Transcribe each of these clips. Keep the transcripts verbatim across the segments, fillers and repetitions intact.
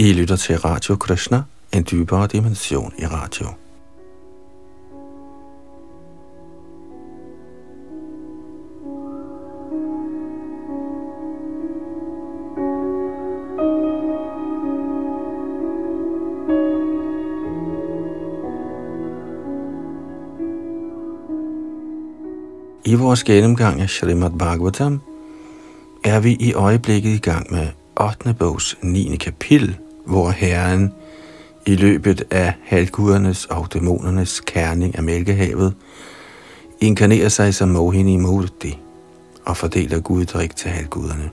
I lytter til Radio Krishna, en dybere dimension i radio. I vores gennemgang af Srimad Bhagavatam er vi i øjeblikket i gang med ottende bogs niende kapitel, hvor Herren i løbet af halvgudernes og dæmonernes kærning af Mælkehavet inkarnerer sig som Mohini Murti og fordeler guddrik til halvguderne.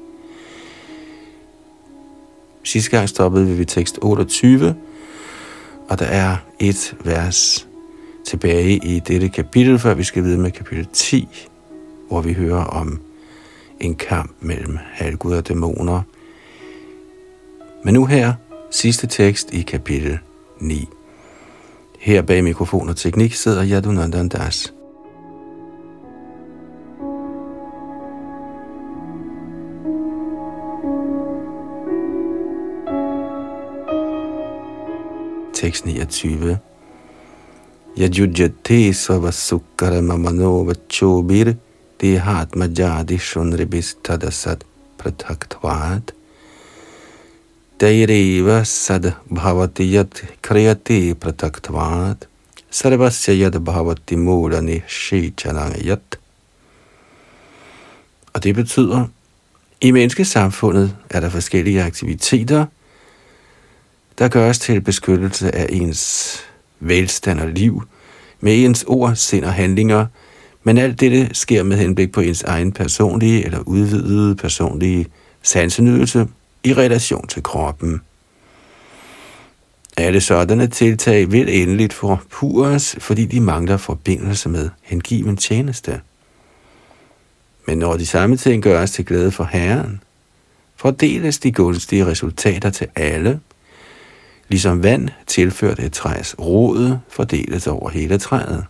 Sidste gang stoppede vi ved tekst otteogtyve, og der er et vers tilbage i dette kapitel, før vi skal videre med kapitel ti, hvor vi hører om en kamp mellem halvguder og dæmoner. Men nu her, sidste tekst i kapitel ni. Her bag mikrofon og teknik sidder Yadunandan Das. Tekst niogtyve. Yajujjate svavasukkara mamano vachobir dehat majadi shunribis tadasat prataktvat daireva sad bhavati yat kriyati prataktvat sarvasya yad bhavati mulani shichanangayat. Og det betyder, i menneskesamfundet er der forskellige aktiviteter, der gøres til beskyttelse af ens velstand og liv, med ens ord, sind og handlinger, men alt dette sker med henblik på ens egen personlige eller udvidede personlige sansenydelse i relation til kroppen. Alle sådanne tiltag vil endeligt forpures, fordi de mangler forbindelse med hengiven tjeneste. Men når de samme ting gøres til glæde for Herren, fordeles de gunstige resultater til alle, ligesom vand tilført et træs rod fordeles over hele træet.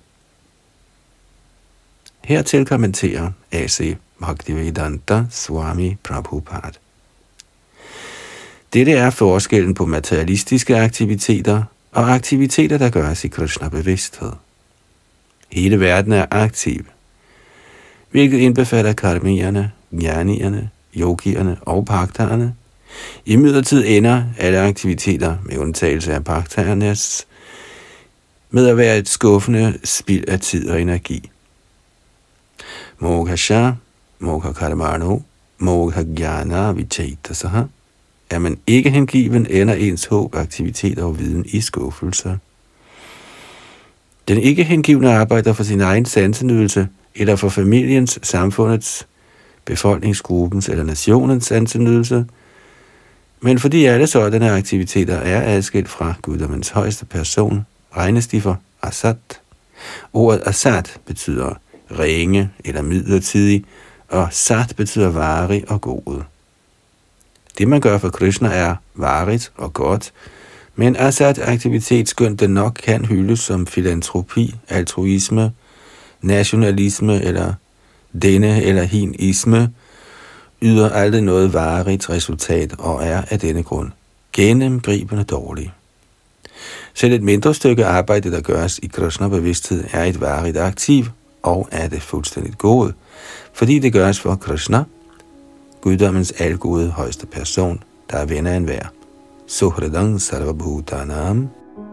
Hertil kommenterer A C Bhaktivedanta Swami Prabhupada. Dette er forskellen på materialistiske aktiviteter og aktiviteter, der gøres i Krishna-bevidsthed. Hele verden er aktiv, hvilket indbefatter karmierne, jnanierne, yogierne og bhaktarerne. Imidlertid ender alle aktiviteter, med undtagelse af bhaktarernes, med at være et skuffende spild af tid og energi. Moghasha, mogha karmano, mogha jnana vichetasaha. Er man ikke hengiven, ender ens håb, aktivitet og viden i skuffelse. Den ikke hengivne arbejder for sin egen sansenydelse, eller for familiens, samfundets, befolkningsgruppens eller nationens sansenydelse, men fordi alle sådanne aktiviteter er adskilt fra guddommens højeste person, regnes de for asat. Ordet asat betyder ringe eller midlertidig, og sat betyder varig og god. Det man gør for Krishna er varigt og godt, men asat-aktivitet, skønt den nok kan hyldes som filantropi, altruisme, nationalisme eller denne eller hinisme, yder aldrig noget varigt resultat og er af denne grund gennemgribende dårlig. Selv et mindre stykke arbejde, der gøres i Krishna-bevidsthed, er et varigt aktiv og er det fuldstændigt gode, fordi det gøres for Krishna, guddommens algode højeste person, der er ven af enhver. Suhridang sarvabhutanam.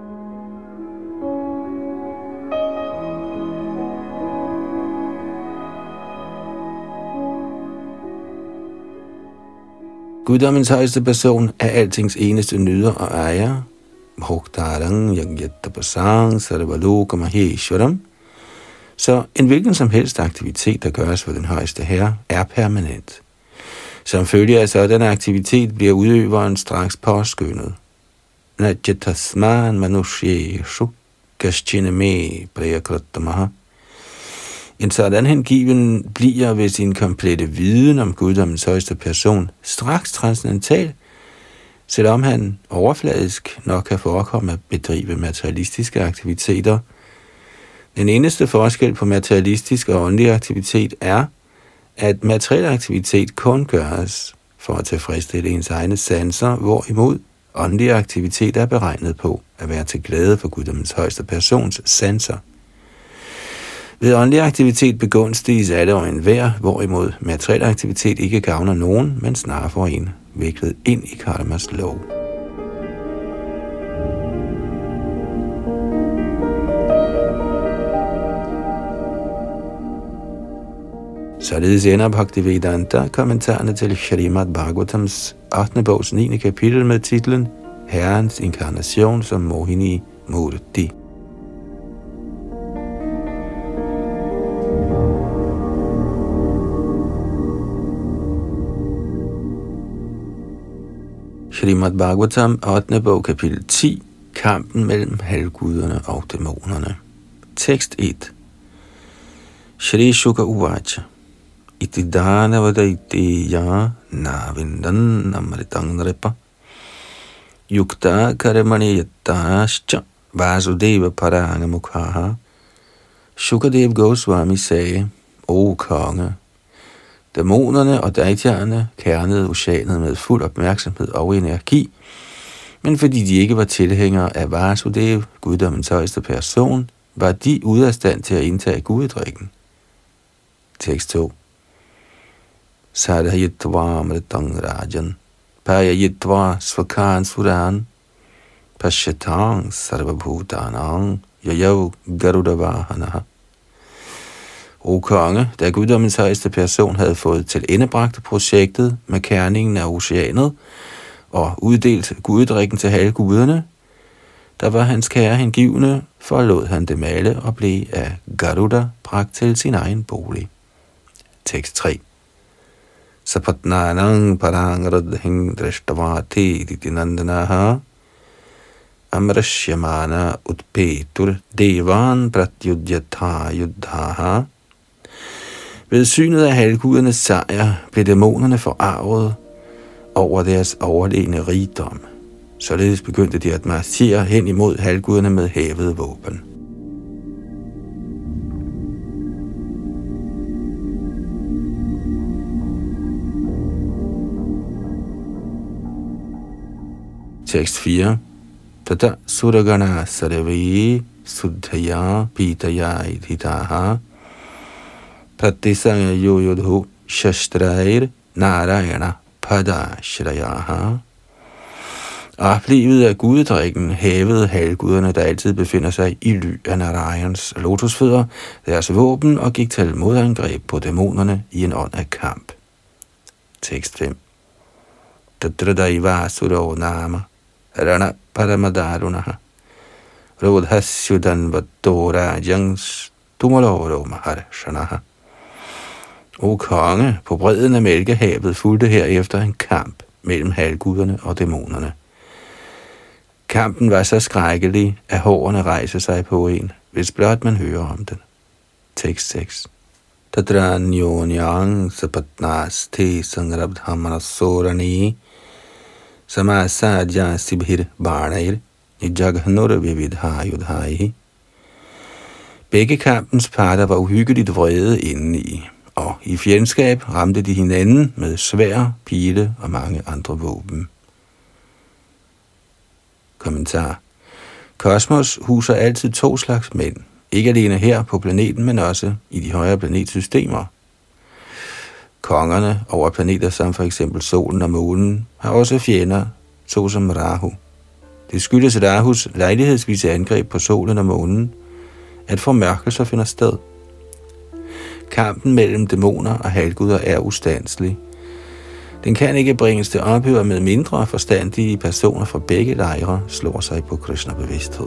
Guddommens højeste person er altings eneste nyder og ejer. Bhoktarang yagyatapasang sarvaloka maheshwaram. Så en hvilken som helst aktivitet, der gøres for den højeste herre, er permanent. Som følge af sådan aktivitet bliver udøveren straks påskyndet. Najatasman manusheshu kaschiname prayakratamaha. En sådan hengiven bliver ved sin komplette viden om guddommens højeste person straks transcendental, selvom han overfladisk nok kan forekomme at bedrive materialistiske aktiviteter. Den eneste forskel på materialistisk og åndelig aktivitet er, at materiel aktivitet kun gøres for at tilfredsstille ens egne sanser, hvorimod Åndelig aktivitet er beregnet på at være til glæde for guddommens højeste persons sanser. Ved åndelig aktivitet begunstiges alle og enhver, hvorimod materiel aktivitet ikke gavner nogen, men snarere får en viklet ind i karmas lov. Således ender Bhaktivedanta kommentarerne til Srimad Bhagavatams ottende bogs niende kapitel med titlen Herrens inkarnation som Mohini Murti. Srimad Bhagavatam ottende bog kapitel ti. Kampen mellem halvguderne og dæmonerne. Tekst et. Shri Shuka Uvacha Itidana Vadaitiya Navindan Amritang Ripa Yukta Karamani Yatascha Vasudeva Paranga Mukhaha. Shukadev Goswami sagde: O konge, dæmonerne og daityaerne kernede oceanet med fuld opmærksomhed og energi, men fordi de ikke var tilhængere af Vasudev, guddommens højeste person, var de ude af stand til at indtage guddrikken. Tekst to. Sadhayitva amritang rajan, payayitva svakan suran, pashyatang sarvabhutanang, yayav garudavahanaha. O konge, da guddommens højeste person havde fået til endebragt projektet med kerningen af oceanet og uddelt guddrikken til halvguderne, der var hans kære hengivne, forlod han det male og blev af Garuda bragt til sin egen bolig. Tekst tre. Sapatnanang parang radhing drashtavati ditinandanaha amrashyamana utpetur devan pratyudhyatha yuddhaha. Ved synet af halvgudernes sejr blev dæmonerne forarvet over deres overlegne rigdom. Således begyndte de at marchere hen imod halvguderne med hævede våben. Tekst fire. Tata suragana sarve suddhaya pitaya idhitaha pratisaya yoyodhu shastrair narayana padashrayaha. Oplivet af guddrikken hævede halvguderne, der altid befinder sig i ly af Narayans lotusfødder, deres våben og gik til modangreb på dæmonerne i en ånd af kamp. Tekst fem. Tatradaiva suro nama rana paramadarunaha rodhasyudan vatora jangs tumaloro maharshanaha. O konge, på bredden af Mælkehavet fulgte herefter en kamp mellem halvguderne og dæmonerne. Kampen var så skrækkelig, at hårene rejser sig på en, hvis blot man hører om den. Tekst seks. Tadranyonyang sapatnas te sangrabdhamanasorani samasadya sibhir barnair nijaghanur vividha yudhai. Begge kampens parter var uhyggeligt vrede indeni, og i fjendskab ramte de hinanden med sværd, pile og mange andre våben. Kommentar. Kosmos huser altid to slags mænd, ikke alene her på planeten, men også i de højere planetsystemer. Kongerne over planeter som for eksempel solen og månen har også fjender, såsom Rahu. Det skyldes Rahus lejlighedsvise angreb på solen og månen, at formørkelser finder sted. Kampen mellem dæmoner og halvguder er ustandelig. Den kan ikke bringes til ophør, med mindre forstandige personer fra begge lejre slår sig på Krishna-bevidsthed.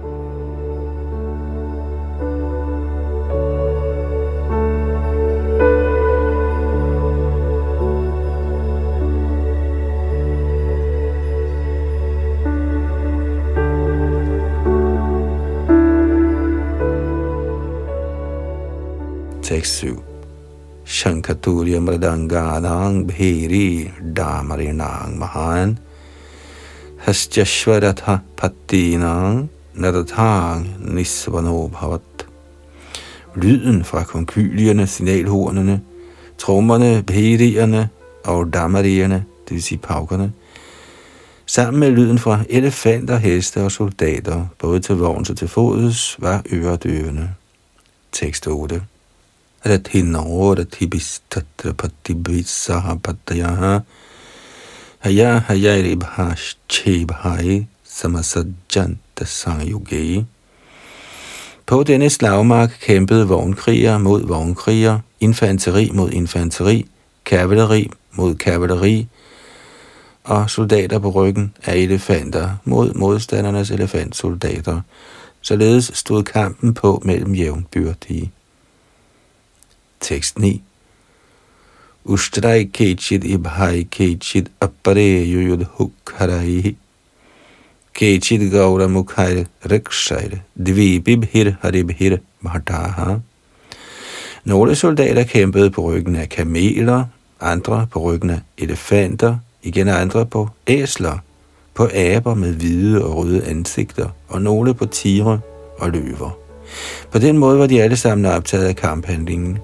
Tekst syv. Shankaturiya mridanganang bheri damarinang mahan hastyashvaratha pattinang nadatang nisvano bhavat. Lyden fra konkylierne, signalhornene, trommerne, bherierne og damarierne, det vil sige paukerne, Sammen med lyden fra elefanter, heste og soldater, både til vogns og til fods, var øredøvende. Tekst otte. Rathino rathibis tatrapatibis sahapatayaha haya hayaribhash chebhai samasajjanta sangyugei. På denne slagmark kæmpede vognkriger mod vognkriger, infanteri mod infanteri, kavaleri mod kavaleri og soldater på ryggen af elefanter mod modstandernes elefantsoldater. Således stod kampen på mellem jævnbyrdige. Tekst ni. Ushtrai kechid ibhai kechid appare yuyud hukharaihi kechid gaura mukhair rikshair dvibibhir haribhir bhataha. Nogle soldater kæmpede på ryggen af kameler, andre på ryggen af elefanter, igen andre på æsler, på aber med hvide og røde ansigter, og nogle på tigre og løver. På den måde var de alle sammen optaget af kamphandlingen.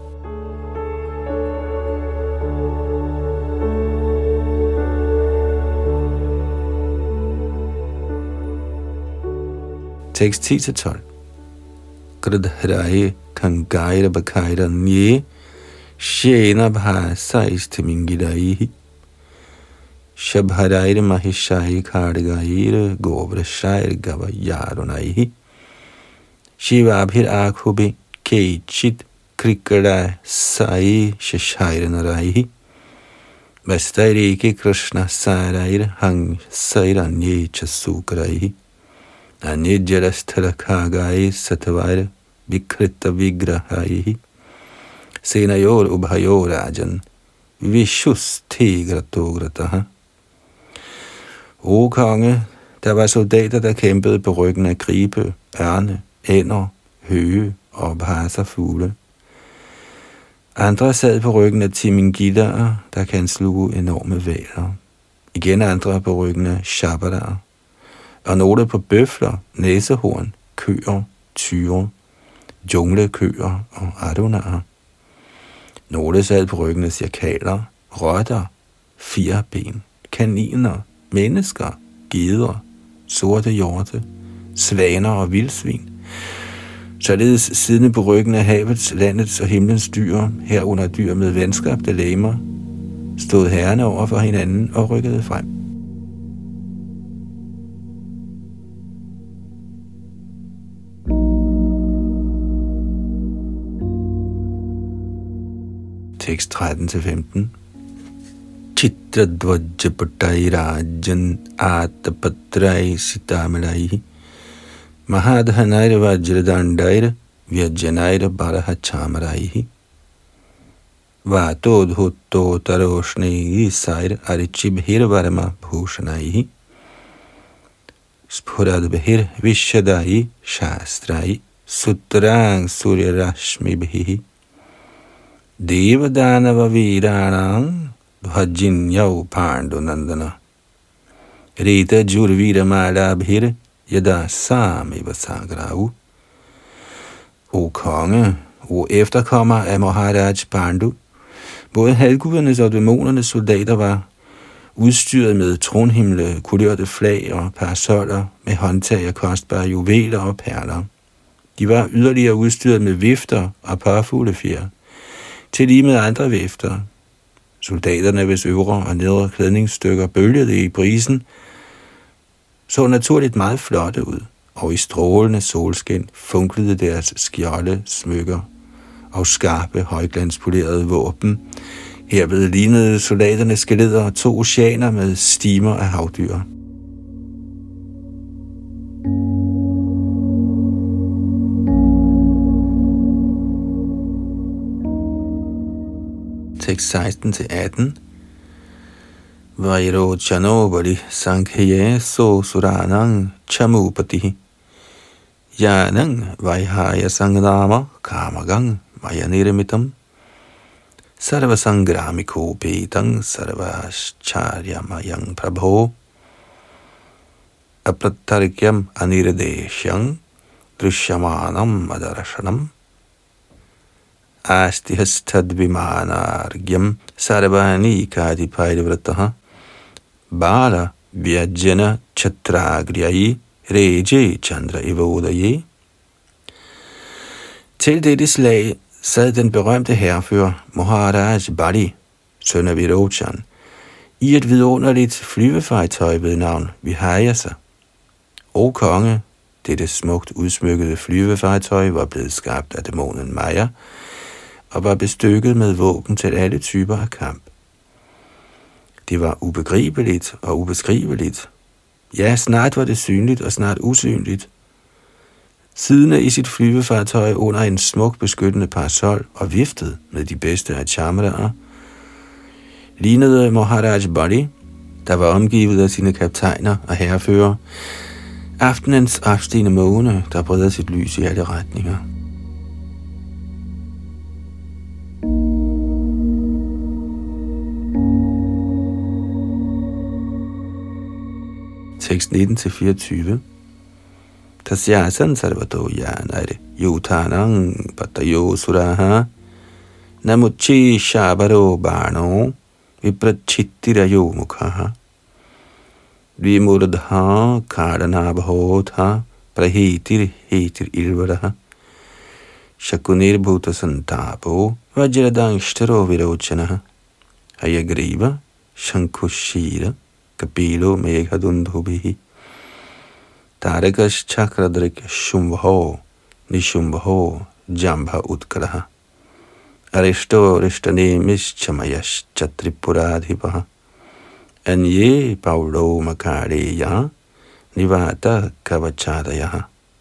Tekst ti til tolv. Gradhraye kangaira bakaira nye shena bha sais timingidaihi shabharaire mahishai khargaire govrashair gavayarunaihi shivabhir akhubi kechit krikada sai shashair naraihi vastairike krishna sarair hang sairanye chasukraihi Anidjarasthalakagai satavair vikrita vigrahaihi senayor ubhayor rajan vishus tigratogrataha. O konge, der var soldater, der kæmpede på ryggen af gribe, ørne, ænder, høge og bhasafugle. Andre sad på ryggen af timingidaer, der kan sluge enorme hvaler. Igen andre på ryggen af shabadaer. Og nogle på bøfler, næsehorn, køer, tyre, junglekøer og adunaer. Nogle sad på ryggen af cirkaler, rotter, firben, kaniner, mennesker, geder, sorte hjorte, svaner og vildsvin. Således siddende på ryggen af havets, landets og himlens dyr, herunder dyr med venskabte legemer, stod herrerne over for hinanden og rykkede frem. Tekst tretten til femten. Chitradvajjapatai rajan atapatrai sitamalai mahadhanair vajradandair vyajanair barahachamaraihi vatodhutto taroshni isair arichibhir varma bhushanaihi spuradbhir vishadai shastrai sutrang suryarashmibhihi Devadanava Viranang Bhajinyau Pandunandana Rita Jurvira Malabhir Yada Samiva Sagrau. O konge, o efterkommer af Maharaj Pandu, både halvgudernes og dæmonernes soldater var udstyret med tronhimle, kulørte flag og parasoller med håndtag af kostbare juveler og perler. De var yderligere udstyret med vifter og parfuglefjer, til lige med andre vifter. Soldaterne, hvis øvre og nedre klædningsstykker bølgede i brisen, så naturligt meget flotte ud, og i strålende solskin funklede deres skjolde, smykker og skarpe, højglanspolerede våben. Herved lignede soldaternes skeletter to oceaner med stimer af havdyr. Tekst seksten til atten. Vairo chanobali sankhye so suranang chamupati yanang vaihaya sangnama kamagang vayaniramitam sarva sangramiko petang sarvascharyamayan prabho apratarkyam aniradeshyang drishyamanam adarashanam astihastadvimanargyam sarvani kadipairivrataha bala Vyajana Chatragriyai Reje Chandra Evodaye. Til dette slag sad den berømte hærfører Maharaj Bali, søn af Virochan, i et vidunderligt flyvefartøj ved navn Vihayasa. O konge, dette smukt udsmykkede flyvefartøj var blevet skabt af dæmonen Maya og var bestykket med våben til alle typer af kamp. Det var ubegribeligt og ubeskriveligt. Ja, snart var det synligt og snart usynligt. Siddende i sit flyvefartøj under en smuk beskyttende parasol og viftet med de bedste af charmeraer, lignede Maharaj Bali, der var omgivet af sine kaptajner og herrefører, aftenens afstigende måne, der breder sit lys i alle retninger. Tekst nitten til fireogtyve. Tasyasan sarvato yanare yutanang patayo suraha namuchi shabaro bano viprachittirayo mukhaha vimurdha karanabhotha prahitir hitir ilvaraha shakunir bhuta santapo vajradangstaro virochanaha hayagriva shankushira kapilo meghadundhubihi Tarakas chakradrik shumbho nishumbho jambha utkaraha Arishto rishtane mischamayash chatripuradhipaha Anye paulo makareya nivata kavachadayaha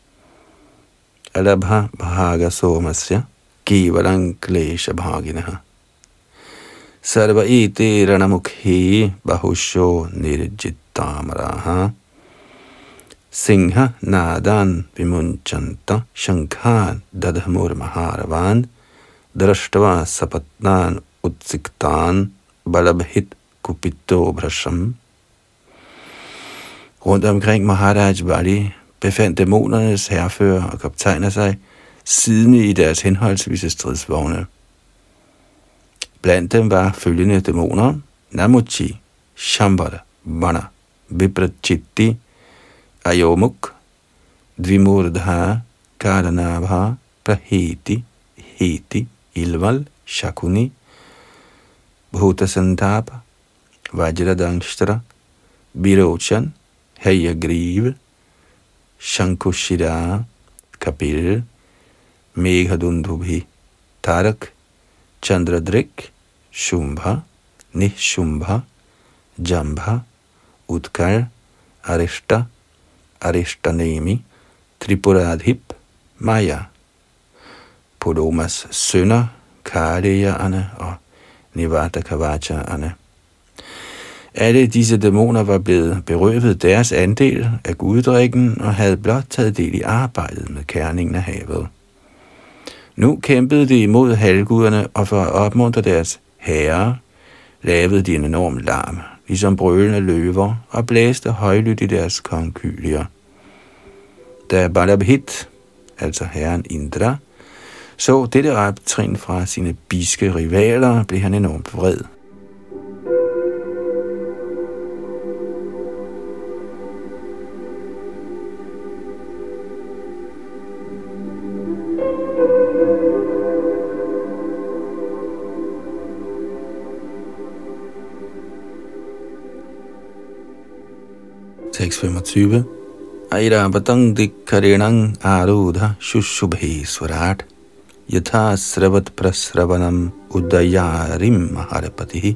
Alabha bhaga somasya kivalang klesha bhaginaha Sarva ite ranamukhi bahusho nirjittamaraha Singha nadan vimunchanta shankhan dadhamur maharavan drashtava sapatnan utsiktan balabhit kupito brasham. Rundt omkring Maharaj Bali befandt dæmonernes herrefører og kaptajner sig siddende i deres henholdsvise stridsvogne. Blandt dem var følgende dæmoner: Namuchi, Shambhara, Vana, Viprachitti, Ayomuk, Dvimurdha, Karanabha, Prahiti, Heti, Ilval, Shakuni, Bhutasantapa, Vajradangshtra, Virochan, Hayagriva, Shankushira, Kapil, Meghadundhubhi, Tarak, Chandradrik, Shumbha, Nishumbha, Jambha, Utkar, Arishta, Arishtanemi, Tripuradhip, Maya, Podomas sønner, Kareyaerne og Nivata Kavachaerne. Alle disse dæmoner var blevet berøvet deres andel af guddrikken og havde blot taget del i arbejdet med kærningen af havet. Nu kæmpede de imod halvguderne, og for at opmuntre deres herrer, lavede de en enorm larm, ligesom brølende løver, og blæste højlydt i deres konkylier. Da Balabhit, altså herren Indra, så dette optrin fra sine bidske rivaler, blev han enormt vred. Tekst femogtyve. Airavatang dikkarinang arudha shushubhe swarat yatha sravat prasravanam udayarim maharapatihi.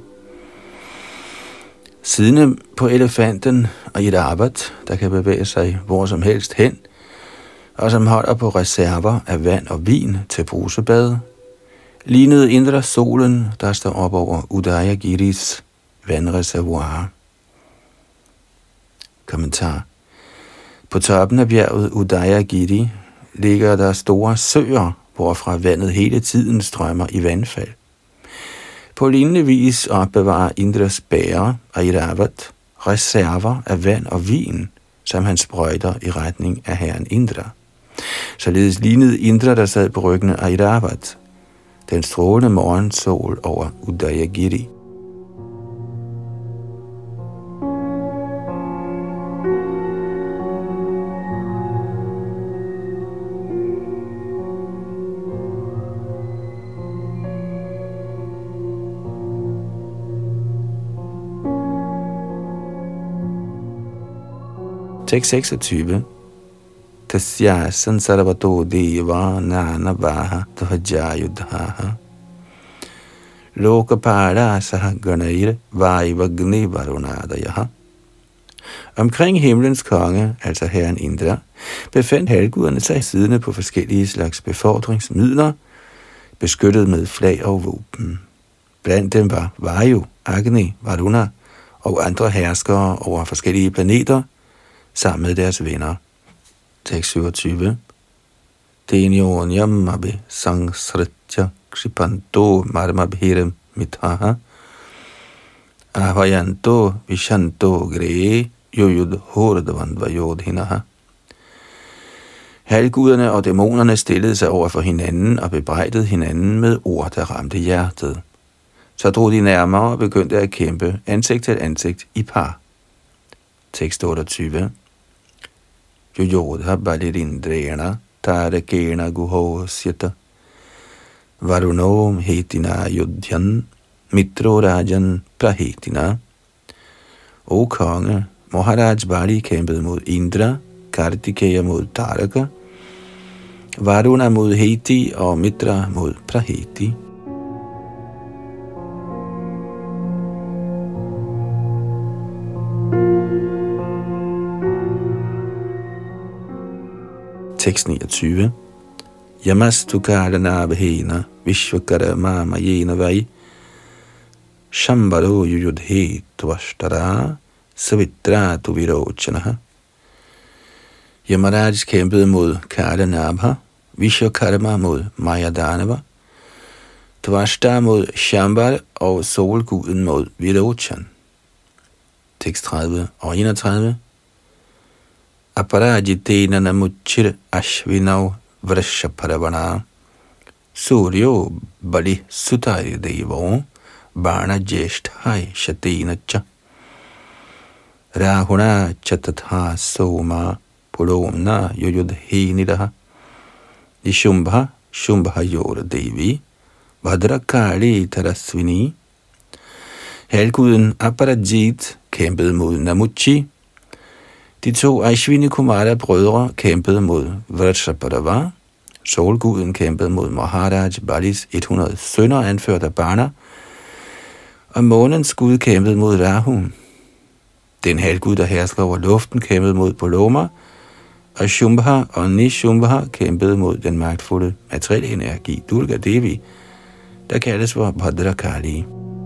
Siddende på elefanten Airavat, der kan bevæge sig hvor som helst hen, og som holder på reserver af vand og vin til brusebad, lignede Indra solen, der står op over Udayagiris vandreservoir. Kommentar. På toppen af bjerget Udayagiri ligger der store søer, hvorfra vandet hele tiden strømmer i vandfald. På lignende vis opbevarer Indras bærer Airavat reserver af vand og vin, som han sprøjter i retning af herren Indra. Således lignede Indra, der sad på ryggen af Airavat, den strålende morgensol over Udayagiri. Tekst seksogtyve. Tasyasan sarvato deva nanavaha dhvajayudhaha lokapara sahaganair vajvagni varunadayaha. Omkring himlens konge, altså herren Indra, befandt halvguderne sig siddende på forskellige slags befordringsmidler, beskyttet med flag og våben. Blandt dem var Vayu, Agni, Varuna og andre herskere over forskellige planeter, sammen med deres venner. Tekst syvogtyve. Tenyonyam abhi sangsritya kripanto marmabhiram mithaha ahvayanto vishanto gre yuyud hordavandvayodhinaha. Halvguderne og dæmonerne stillede sig over for hinanden og bebrejdede hinanden med ord, der ramte hjertet. Så drog de nærmere og begyndte at kæmpe ansigt til ansigt i par. Tekst otteogtyve. Yuyodha balirindrena tarakena guhosyata varunom hetina yudhyan mitro rajan prahetina. O konge, Maharaj Bali kæmpede mod Indra, Kartikeya mod Taraka, Varuna mod Heti og Mitra mod Praheti. Tekst niogtyve. Yamastu karana bhena vishvakarama mayena vai shambaro yudhe tvashtara savitra tu virochanaha. Yamaraj kæmpede mod Kardanabha, Vishvakarma mod Mayadanava, Tvashta mod Shambhala og solguden mod Virochan. Tekst tredive og enogtredive. Aparajitena namuchir ashvinav vrashaparavana suryo bali sutari devo bana jeshthai shatena cha rahuna chatatha soma pulomna yuyudhinidaha ishumbha shumbha yor devi vadrakali tarasvini. Halvguden Aparajit kæmpede mod Namuchi. De to Ashwini Kumara brødre kæmpede mod Vrashaparava. Solguden kæmpede mod Maharaj Balis hundrede sønner anført af Bana. Og månens gud kæmpede mod Rahu. Den halvgud, der hersker over luften, kæmpede mod Poloma. Og Shumbha og Nishumbha kæmpede mod den magtfulde materielle energi, Durga Devi, der kaldes for Bhadrakali.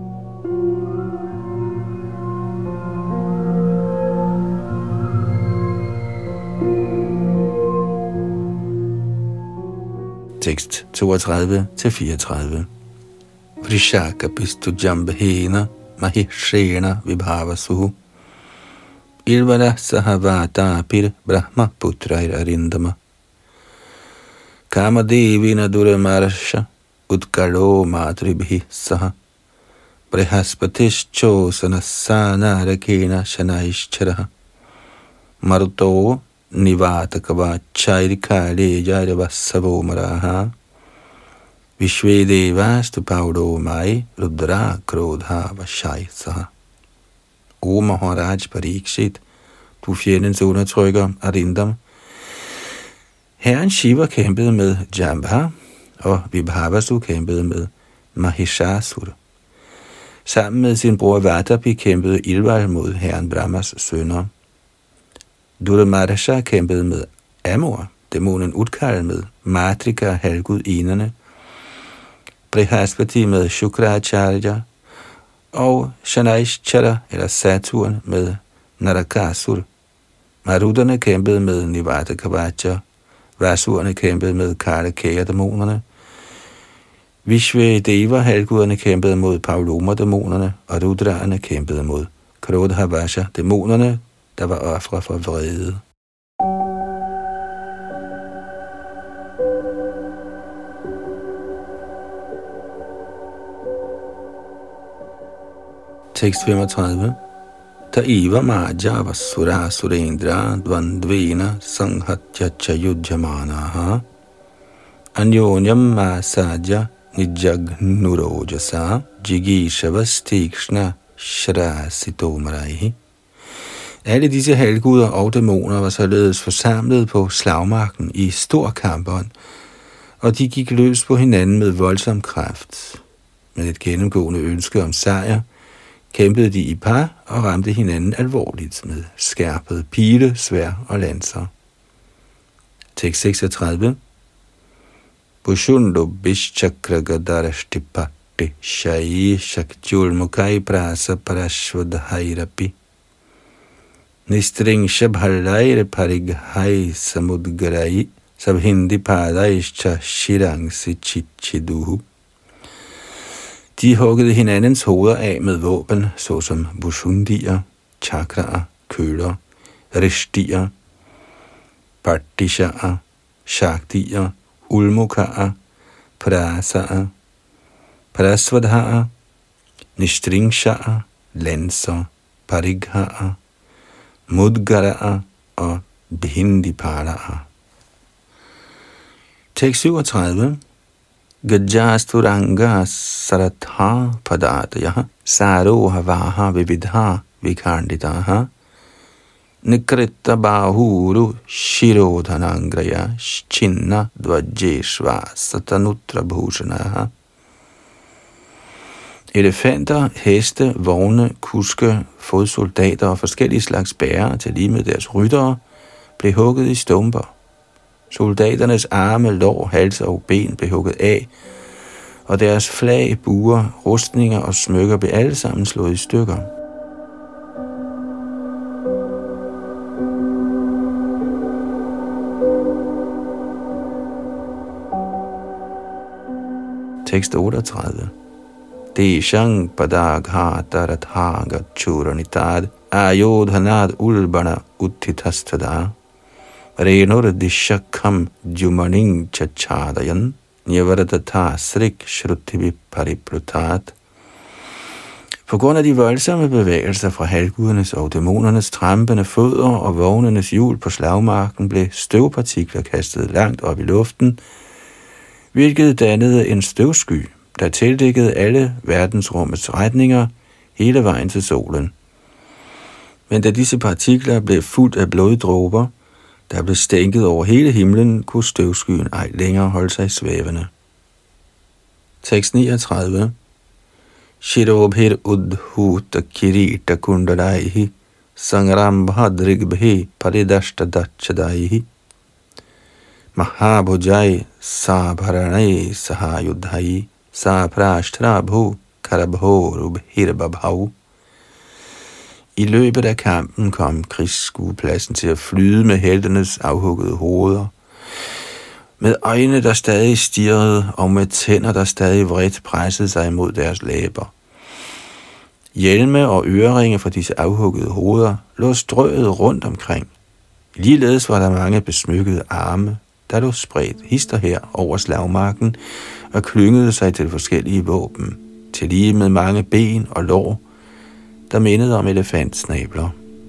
Tekst toogtredive til fireogtredive. Vrishaka pistu jambhena mahishena vibhavasuhu ilvara sahavata pir brahma putrair arindama kamadevina duramarsha utkalo matribhi saha brihaspatish sanasana rakena shanaishcharaha maruto nivatakava chairikale jairavassavo maraha vishvedevas paudo mai rudra krodha vashai saha. O Maharaj Parikshit, du fjendens undertrykker Arindam. Herren Shiva kæmpede med Jambha, og Vibhavasu kæmpede med Mahishasura. Sammen med sin bror Vatapi kæmpede Ilval mod herren Brahmas sønner. Duramarsha kæmpede med Amor, dæmonen Utkal med Matrika, halvgudinderne, Brihaspati med Shukracharya, og Shanaishchara eller Saturn med Narakasur. Maruderne kæmpede med Nivata Kavacha, Vasurerne kæmpede med Kartikeya-dæmonerne, Vishvedeva halvguderne kæmpede mod Pauloma-dæmonerne, og Rudraerne kæmpede mod Krodhavasha-dæmonerne, der var ofre for vrede. Tekst femogtredive. Taiva maja vasura surendra dvandvena sanghatya chayudhyamanaha anyonyam masaja nijagnurojasa jigishavastikshna shrasito maraihi Alle disse halvguder og dæmoner var således forsamlet på slagmarken i stor kampånd, og de gik løs på hinanden med voldsom kraft. Med et gennemgående ønske om sejr, kæmpede de i par og ramte hinanden alvorligt med skærpede pile, sværd og lanser. Tekst seksogtredive. Pushundo bishchakragadaraštipati shai shakjul mukai prasa parashvadhairapi nistring shabhalaire parighai samudgarai sabhindi padaischa shirang sichichiduhu. De huggede hinandens hoveder af med våben, såsom bushundier, chakraer, køler, rishtier, partishaer, shaktier, ulmukaer, prasaer, prasvadhaer, nistringshaer, lanser, parighaer, mudgaraer og bhindipalaer. Tekst syvogtredive. Gajasturanga saratha padataya saroha vaha vividha vikarnitaha nikrita bahuru shirodhanangraya chinna dvajeshva satanutra bhushanaha. Elefanter, heste, vogne, kuske, fodsoldater og forskellige slags bærere til lige med deres ryttere blev hugget i stumper. Soldaternes arme, lår, halse og ben blev hugget af, og deres flag, buer, rustninger og smykker blev alle sammen slået i stykker. Tekst otteogtredive. Deshang padagha darathaga churanitad ayodhanad ulbana uttitastadha renur dishakham jumaning chachadayan nyavardatha srik shrutivi pariplutat. På grund af de voldsomme bevægelser fra halvgudernes og dæmonernes trampende fødder og vognenes hjul på slagmarken blev støvpartikler kastet langt op i luften, hvilket dannede en støvsky, der tildækkede alle verdensrummets retninger hele vejen til solen. Men da disse partikler blev fuldt af bloddråber, der blev stænket over hele himlen, kunne støvskyen ej længere holde sig svævende. Tekst niogtredive. Shirobhir udhuta kirita kundalaihi sangrambhadrigbhe paridashtadachadaihi mahabhujai sabharanai sahayudhai saprashtrabhu karabhorubhirbabhav. I løbet af kampen kom krigsskuepladsen til at flyde med heltenes afhuggede hoveder, med øjne, der stadig stirrede, og med tænder, der stadig vredt pressede sig mod deres læber. Hjelme og øreringe fra disse afhuggede hoveder lå strøget rundt omkring. Ligeledes var der mange besmykkede arme, der lå spredt hister her over slagmarken og klyngede sig til forskellige våben, til lige med mange ben og lår, der mindede om elefantsnabler.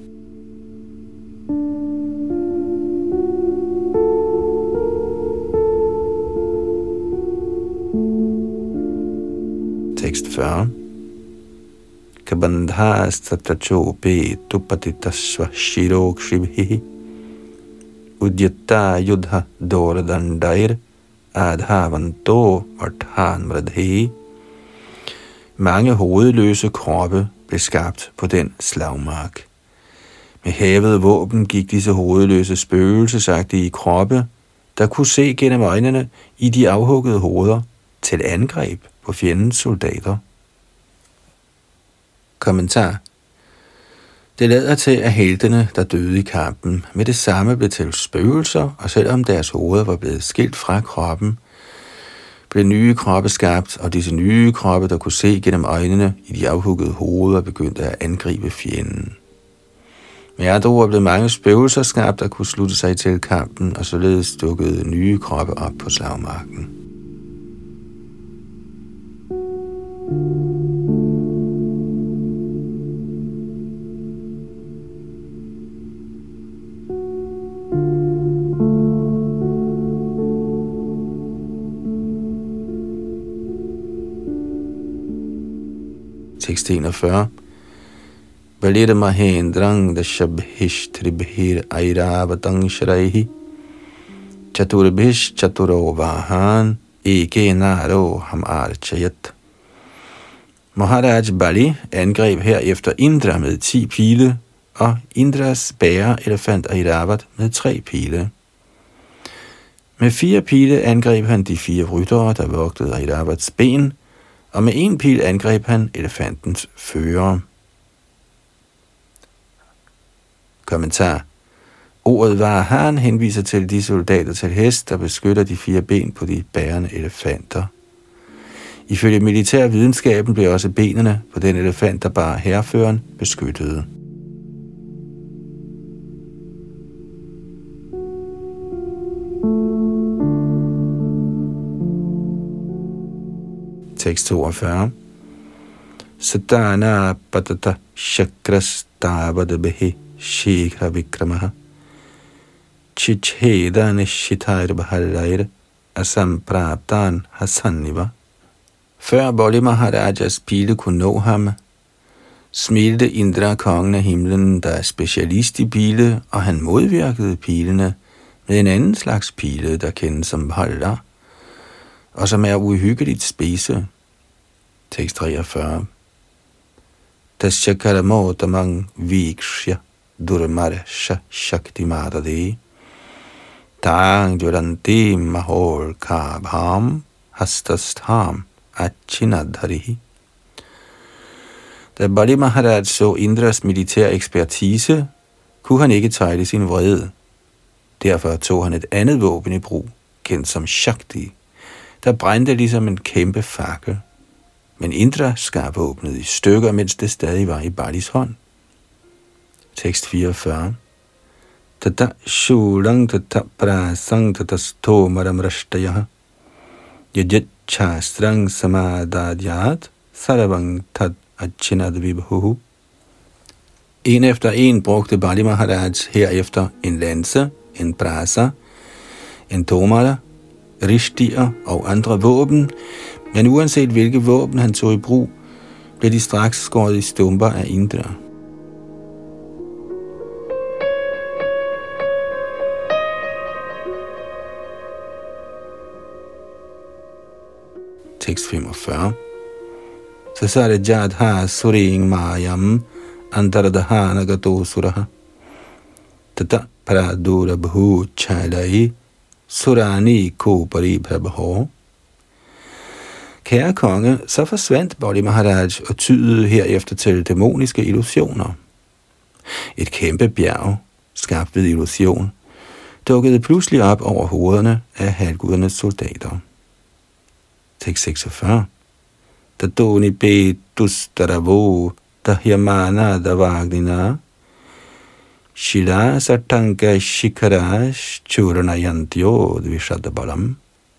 Tekst fyrre. Kabandhas tatachope tupatitasva shirok shibhi udyatta yudha doradandair adhavanto varthan vradhi. Mange hovedløse kroppe blev skabt på den slagmark. Med hævede våben gik disse hovedløse spøgelsesagtige kroppe, der kunne se gennem øjnene i de afhuggede hoveder, til angreb på fjendens soldater. Kommentar. Det lader til, at heltene, der døde i kampen, med det samme blev til spøgelser, og selvom deres hoveder var blevet skilt fra kroppen, blev nye kroppe skabt, og disse nye kroppe, der kunne se gennem øjnene i de afhuggede hoveder, begyndte at angribe fjenden. Med andre ord blev mange spøgelser skabt, der kunne slutte sig til kampen, og således dukkede nye kroppe op på slagmarken. Tekst enogfyrre. Valita Mahendrang Dashabhishtribhir Airavatang Shraihi Chaturabhish Chaturovahan Eke Naro Ham Archayat. Maharaj Bali angreb herefter Indra med ti pile, og Indras bærer elefant Airavat med tre pile. Med fire pile angreb han de fire ryttere, der vogtede Airavats ben, og med en pil angreb han elefantens fører. Kommentar. Ordet Vahan henviser til de soldater til hest, der beskytter de fire ben på de bærende elefanter. Ifølge militærvidenskaben blev også benene på den elefant, der bar hærføreren, beskyttede. Tekst toogfyrre. Sadana patata shakras tabadabehi shikha vikramaha chicheda nishitair baharair asampraptan hasaniva. Før Bali Maharajas pile kunne nå ham, smilte Indra, kongen af himlen, der er specialist i pile, og han modvirkede pilene med en anden slags pile, der kendes som Bhalla, og som er uhyggeligt spidse. Tekst treogfyrre. Tashyakaramotamang vikshya durmarsha shaktimadade tang durante mahol kabham hastastham achinadharihi. Da Bali Maharaj så Indras militær ekspertise, kunne han ikke tejle sin vrede. Derfor tog han et andet våben i brug, kendt som Shakti, der brændte ligesom en kæmpe fakkel. Men Indra skar våbnet i stykker, mens det stadig var i Balis hånd. Tekst fireogfyrre. Tata shulang tata prasang tata stomaram rashtayaha yajat chastrang samadhadyat saravang tad achinad vibhuhu. En efter en brugte Bali Maharaj herefter en lanse, en prasa, en tomara, rishtier og andre våben, men uanset hvilke våben han tog i brug, blev de straks skåret i stumper af Indra. Tekst femogfyrre. Sasarajadha suring mayam antaradhana gato suraha tata paradura bhu chalai surani kopari prabho. Kære konge, så forsvandt Bali Maharaj og tydede herefter til dæmoniske illusioner. Et kæmpe bjerg, skabt ved illusion, dukkede pludselig op over hovederne af halvgudernes soldater. Tekst seksogfyrre. Tadoni betus daravo dahyamana davagnina shila satanka shikarash churanayantyo dvishadabalam.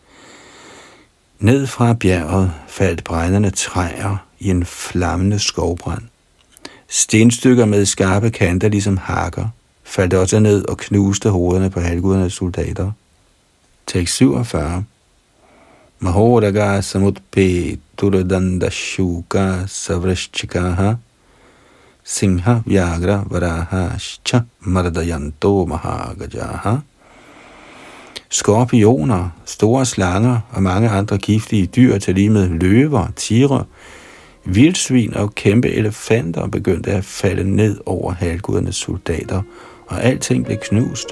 Ned fra bjerget faldt brændende træer i en flammende skovbrand. Stenstykker med skarpe kanter ligesom hakker faldt også ned og knuste hovederne på halvgudernes soldater. Tekst syvogfyrre. Mahodaga samutpe turadanda shuka savrashchikaha singha vyagra varaha shcha mardayanto mahagajaha. Skorpioner, store slanger og mange andre giftige dyr, til lige med løver, tigre, vildsvin og kæmpe elefanter begyndte at falde ned over halvgudernes soldater, og alting blev knust.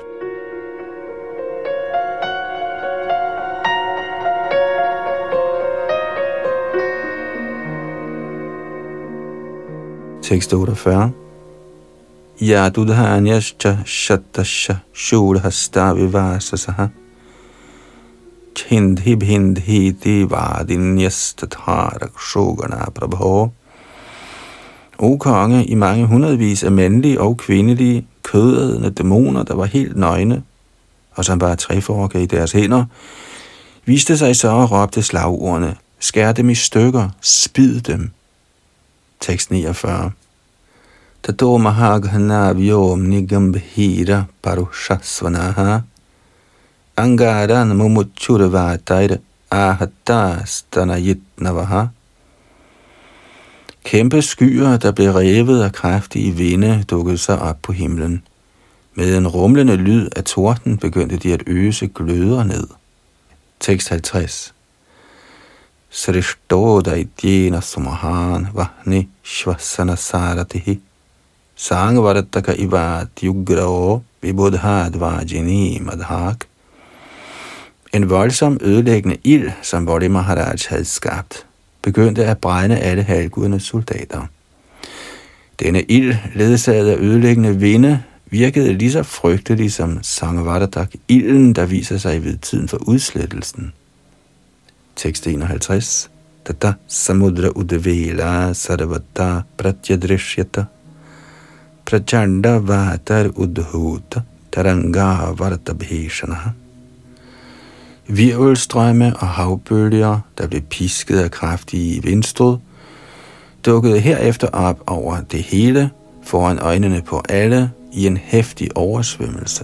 Tekst otteogfyrre. Yadudhanyascha shatasha shurhasta vivasasaha Chindhi bhindhi divadinyastatarak shogana prabho. O konge, i mange hundredvis af mandlige og kvindelige, kødædende dæmoner, der var helt nøgne, og som bare treforker i deres hænder, viste sig så og råbte slagordene: skær dem i stykker, spid dem. Tekst niogfyrre. Tato mahaghanavyom nigambhira parushasvanaha Angaran mumuchurvatair ahata stanayitnavaha. Kæmpe skyer, der blev revet af kraftige vinde, dukkede sig op på himlen. Med en rumlende lyd af torden begyndte de at øse gløder ned. Tekst halvtreds. Srishto daityena sumahan vahni shvasana saratihi sangvarataka ivat yugrao vibudhad vajini madhak. En voldsom ødelæggende ild, som Vali Maharaj havde skabt, begyndte at brænde alle halvgudernes soldater. Denne ild, ledsaget af ødelæggende vinde, virkede lige så frygtelig som Sangvaratak, ilden, der viser sig ved tiden for udslettelsen. Tekst enoghalvtreds. Tata samudra udvela sarvata pratyadrishyata prachanda vatar udhuta taranga vartabheshanaha. Virvelstrømme og havbølger, der blev pisket af kraftige vindstød, dukkede herefter op over det hele, foran øjnene på alle, i en heftig oversvømmelse.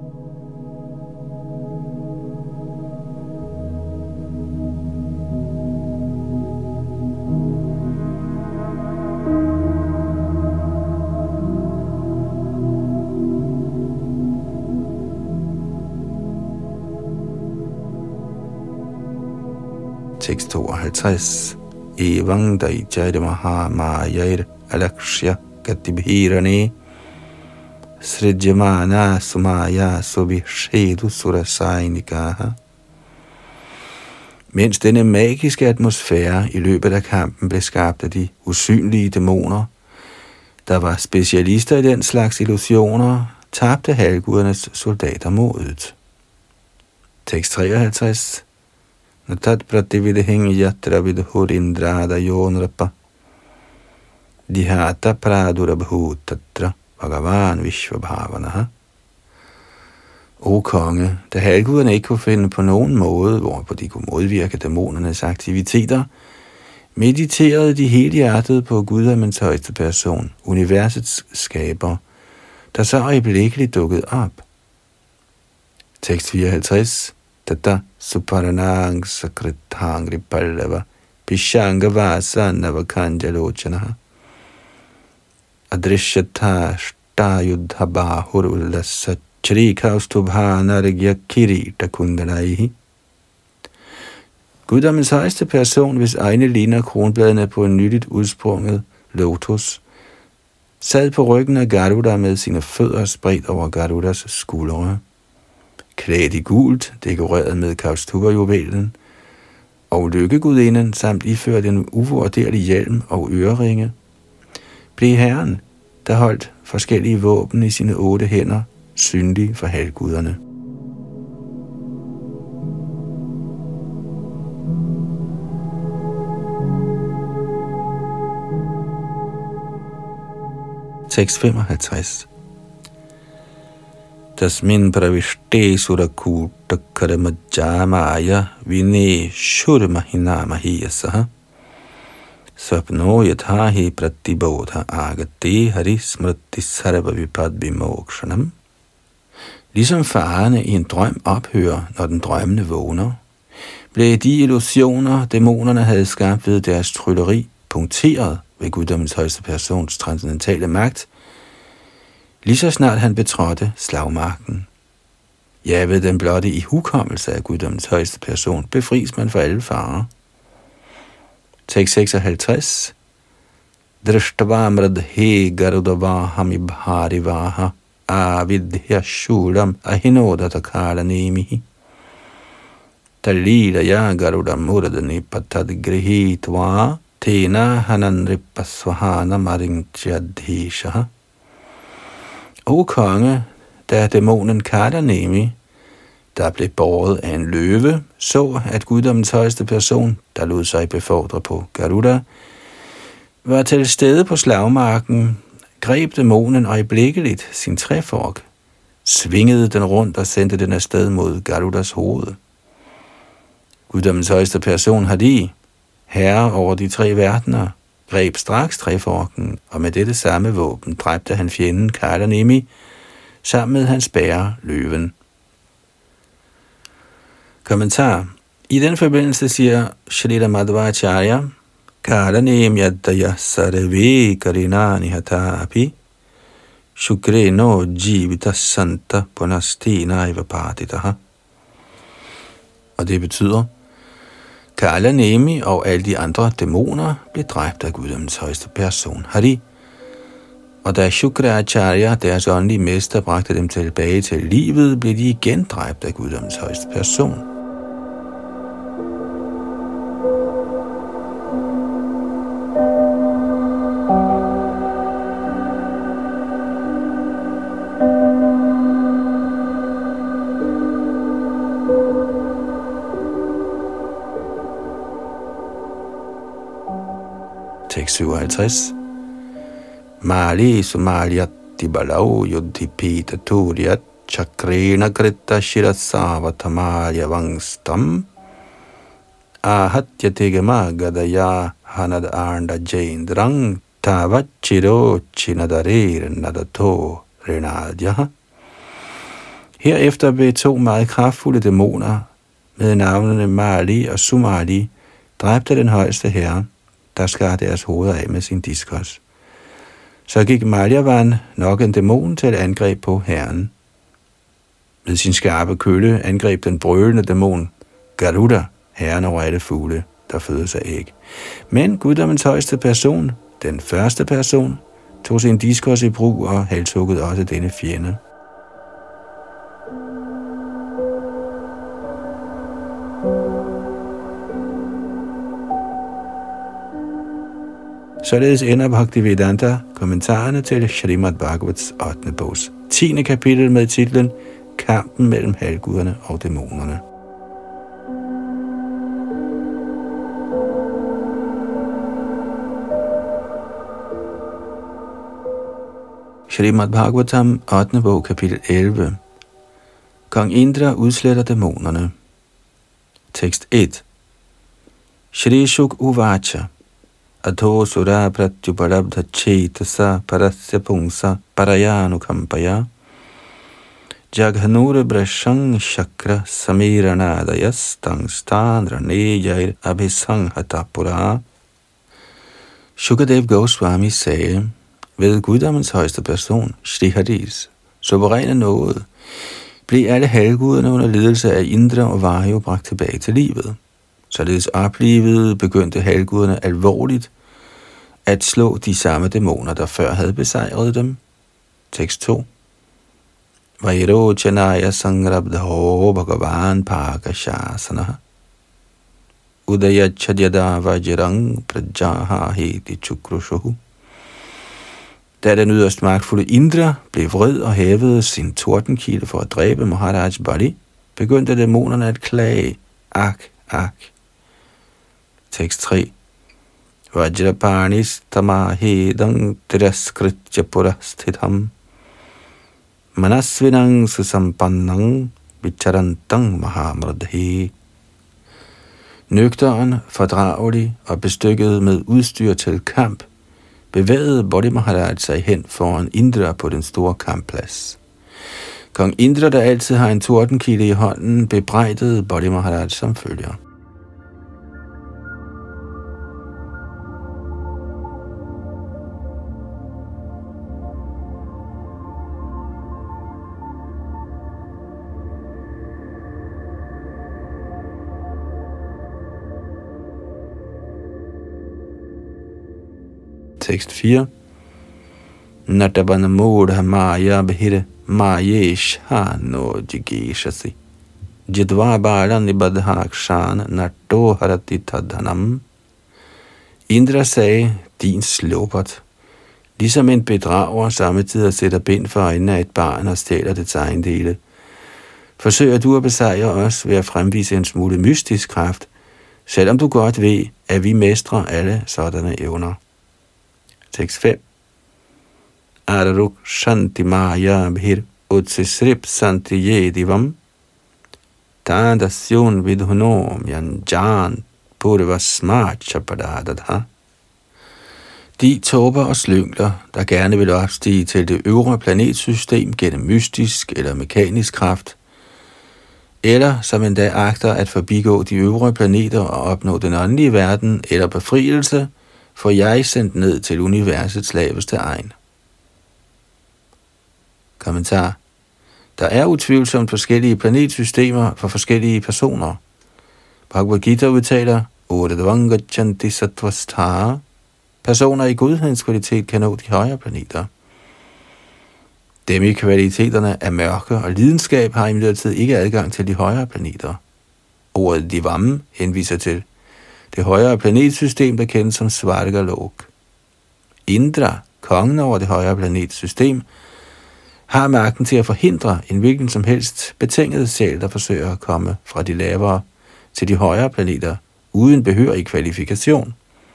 Tekst tooghalvtreds. Evang daijayde maha mayair alakshya gatibhirane srijamana sumaya subhishedu surasainika. Mens denne magiske atmosfære i løbet af kampen blev skabt af de usynlige dæmoner, der var specialister i den slags illusioner, tabte halvgudernes soldater modet. Tekst treoghalvtreds. Natat pratividhing yatra vidhurindrada yonrapa dihata pradurabhut tatra bhagavan vishvabhavanaha. O konge, da halvguderne ikke kunne finde på nogen måde, hvorpå de kunne modvirke dæmonernes aktiviteter, mediterede de helhjertet på Guddommens højeste person, universets skaber, der så øjeblikkeligt dukkede op. Tekst fireoghalvtreds. Tata suparanang sakritangri pallava pishanga vasana kanjalochanaha adrishyata shtayudha bahur ullasa charikaustubhanargya kirita kundanaihi. Guddommens højeste person, hvis egne ligner kronbladene på en nyligt udsprunget lotus, sad på ryggen af Garuda med sine fødder spredt over Garudas skuldre. Klædt i gult, dekoreret med Kaustubha-juvelen, og lykkegudinden samt iført en uvurderlig hjelm og øreringe, blev herren, der holdt forskellige våben i sine otte hænder, synlig for halvguderne. Tekst femoghalvtreds. Tasmin pravishte surakuta karamajamaya vine shurmahina mahiyasaha svapno yathahi pratibodha agate hari smriti sarva vipad vimokshanam. Ligesom farerne i en drøm ophører, når den drømmende vågner, blev de illusioner, dæmonerne havde skabt ved deres trylleri, punkteret ved Guddommens højeste persons transcendentale magt, lige så snart han betrådte slagmarken. Ja, ved den blotte ihukommelse af Guddommens højeste person befries man for alle farer. Tekst seksoghalvtreds. Drishtavamradhe garudavaham ibharivaha avidhya shulam ahinodata nemihi talila ya garudam muradani patad grihitva tena hananripasvahana marinchadhishaha. O konge, da dæmonen Kardanemi, der blev båret af en løve, så, at Guddommens højeste person, der lod sig befordre på Garuda, var til stede på slagmarken, greb dæmonen øjeblikkeligt sin træfork, svingede den rundt og sendte den afsted mod Garudas hoved. Guddommens højeste person Hadi, herre over de tre verdener, greb straks træforken, og med dette samme våben dræbte han fjenden Kardanemi, sammen med hans bærer, løven. Kommentar. I den forbindelse siger Shrila Madhvacharya, Karanem yadaya sarve karinani hatapi shukre no jivita santa punastina ivapatitaha. Og det betyder, Kala Nemi og alle de andre dæmoner blev dræbt af guddommens højeste person, Hari. Og da Shukracharya, deres åndelige mester, bragte dem tilbage til livet, blev de igen dræbt af guddommens højeste person. Tekst syvoghalvtreds. Mali sumalyat tibalau yudhipita turiyat chakrena krita shirasavatamaya vangstam ahatya tegama gadaya hanad arnda jaindrang tavachiro chinadarer nadato renadyaha. Herefter blev to meget kraftfulde dæmoner med navnene Mali og Sumali dræbte den højeste herre, der skar deres hoveder af med sin diskos. Så gik Malyavan, nok en dæmon, til et angreb på herren. Med sin skarpe kølle angreb den brølende dæmon Garuda, herren over alle fugle, der fødes af æg. Men guddommens højeste person, den første person, tog sin diskos i brug og halshuggede også denne fjende. Således ender Bhaktivedanta kommentarerne til Srimad Bhagavats ottende bogs tiende kapitel med titlen Kampen mellem halvguderne og dæmonerne. Srimad Bhagavatam ottende bog kapitel elleve. Kong Indra udsletter dæmonerne. Tekst et. Shri Shuk Uvacha Adho sura pratyuparabdha chetasa parasya pungsa parayanu kampaya jaghanura brashang shakra samiranadayas tangstandra nejair abhisanghatapura. Shukadev Goswami sagde, ved guddommens højeste person, Shri Haris, suveræne nåde, blev alle halvguderne under ledelse af Indra og Vayu bragt tilbage til livet. Således oplivet begyndte halvguderne alvorligt at slå de samme dæmoner, der før havde besejret dem. Tekst to. Vairochanaya sangrabdho bhagavan pakashasana udayachadhyada vajrang prajaha heti chukrushuhu. Da den yderst magtfulde Indra blev vred og hævede sin tordenkilde for at dræbe Maharaj Bali, begyndte dæmonerne at klage. Ak, ak. Tekst tre. Vajrapanis tamahedang tiraskritya purasthitham manasvinang susampannang vicharantang mahamradhi. Nøgteren, fordragelig og bestykket med udstyr til kamp, bevægede Bodhi Maharaj sig hen foran Indra på den store kampplads. Kong Indra, der altid har en tordenkilde i hånden, bebrejdede Bodhi Maharaj som følger. Tekst fire. Natabana mudha maya behire mayesh ha no jigeshasi jidva bala nibadhakshan nato harati tadhanam. Indra sagde, din slåbert, ligesom en bedrager samtidig sætter bind for øjnene af et barn og stjæler dets ejendele. Forsøger du at besejre os ved at fremvise en smule mystisk kraft, selvom du godt ved, at vi mestrer alle sådanne evner. Tekst fem. Araruk shanti maya bhir utsisrip santi yedivam tandasyon vidhunom yanjan purvasmart chapadadadha. De tåber og slyngler, der gerne vil opstige til det øvre planetsystem gennem mystisk eller mekanisk kraft, eller som endda agter at forbigå de øvre planeter og opnå den åndelige verden eller befrielse, får jeg sendt ned til universets laveste egen. Kommentar. Der er utvivlsomt forskellige planetsystemer for forskellige personer. Bhagavad Gita udtaler, Urdhvangachanti sattvastha. Personer i godhedens kvalitet kan nå de højere planeter. Dem i kvaliteterne af mørke og lidenskab har imidlertid ikke adgang til de højere planeter. Ordet divam henviser til det højere planetsystem, der kendes som Svargalok. Indra, kongen over det højere planetsystem, har magten til at forhindre en hvilken som helst betinget sjæl, der forsøger at komme fra de lavere til de højere planeter, uden behørig kvalifikation.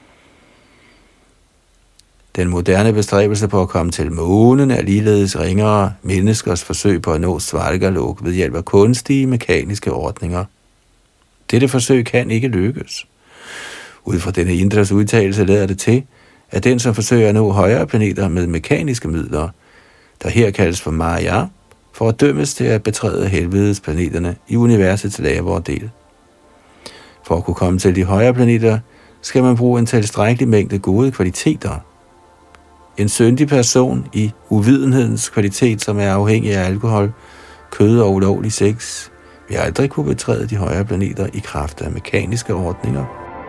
Den moderne bestræbelse på at komme til månen er ligeledes ringere menneskers forsøg på at nå Svargalok ved hjælp af kunstige mekaniske ordninger. Dette forsøg kan ikke lykkes. Ud fra denne Indras udtalelse lader det til, at den, som forsøger at nå højere planeter med mekaniske midler, der her kaldes for Maya, for at dømmes til at betræde helvedes planeterne i universets lavere del. For at kunne komme til de højere planeter, skal man bruge en tilstrækkelig mængde gode kvaliteter. En syndig person i uvidenhedens kvalitet, som er afhængig af alkohol, kød og ulovlig sex, vil aldrig kunne betræde de højere planeter i kraft af mekaniske ordninger.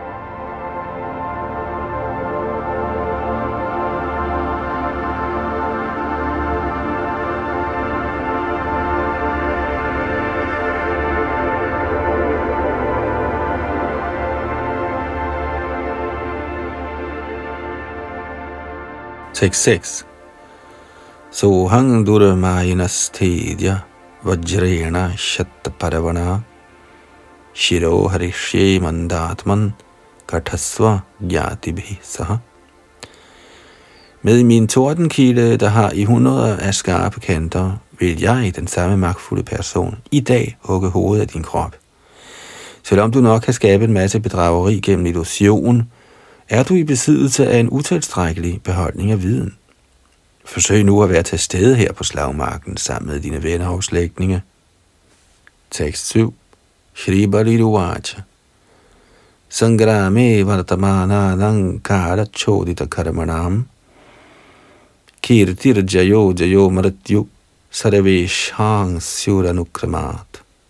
Tekst seks. Sohang durmayinas tedya vajrena shattaparavana shiro harishye mandatman kathasva gyatibhi saha. Med min tordenkilde, der har i hundreder af skarpe kanter, vil jeg, den samme magtfulde person, i dag hugge hovedet af din krop. Selvom du nok kan skabe en masse bedrageri gennem illusion, er du i besiddelse af en utilstrækkelig beholdning af viden. Forsøg nu at være til stede her på slagmarken sammen med dine venner og slægtninge. Tekst syv. Shri Baliruvacha. Sangrame vartamana nankara chodita karmanam. Kirtir jayo jayo maratyu sarveshang syuranukramat.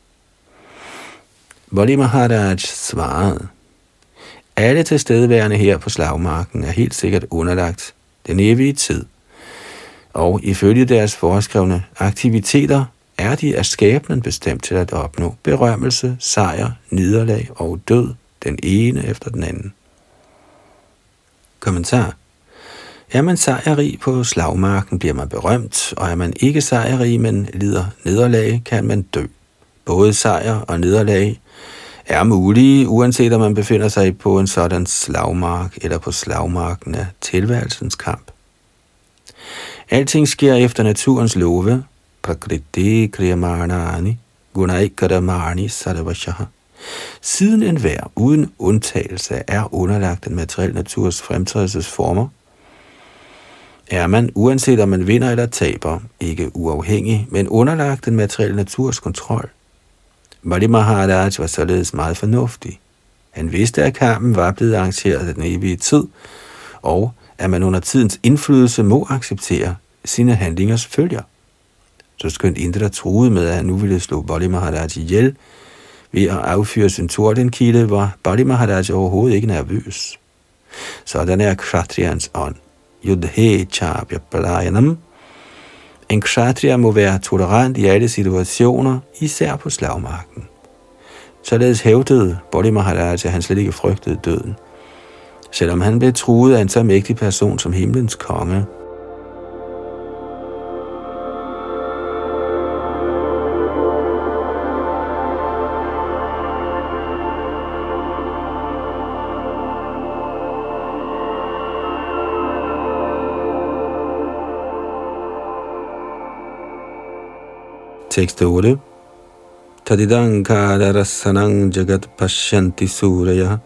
Bali Maharaj svarede: alle tilstedeværende her på slagmarken er helt sikkert underlagt den evige tid, og ifølge deres foreskrevne aktiviteter er de af skæbnen bestemt til at opnå berømmelse, sejr, nederlag og død, den ene efter den anden. Kommentar. Er man sejrrig på slagmarken, bliver man berømt, og er man ikke sejrrig, men lider nederlag, kan man dø. Både sejr og nederlag er mulige, uanset om man befinder sig på en sådan slagmark eller på slagmarken af tilværelsens kamp. Alting sker efter naturens love. Prakriti kriyamarnani gunaikaramani sarvashaha. Siden enhver uden undtagelse er underlagt den materielle naturs fremtrædelsesformer, er man, uanset om man vinder eller taber, ikke uafhængig, men underlagt den materielle naturs kontrol. Bali Maharaj var således meget fornuftig. Han vidste, at kampen var blevet arrangeret af den evige tid, og at man under tidens indflydelse må acceptere sine handlingers følger. Så skønt Indra troede med, at han nu ville slå Bali Maharaj ihjel ved at affyre sin tordenkilde, var Bali Maharaj overhovedet ikke nervøs. Sådan er kshatriyans ånd. Yudhe chabya palayanam. En kshatriya må være tolerant i alle situationer, især på slagmarken. Således hævdede Bali Maharaj, at han slet ikke frygtede døden, selvom han blev truet af en så mægtig person som himlens konge. Tekst otte. Tadidankara rasanang jagat pashyanti suraya